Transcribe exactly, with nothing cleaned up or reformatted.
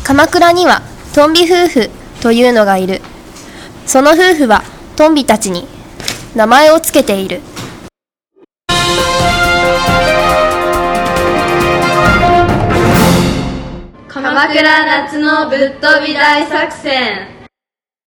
鎌倉にはトンビ夫婦というのがいる。その夫婦はトンビたちに名前をつけている。 鎌倉夏のぶっ飛び大作戦。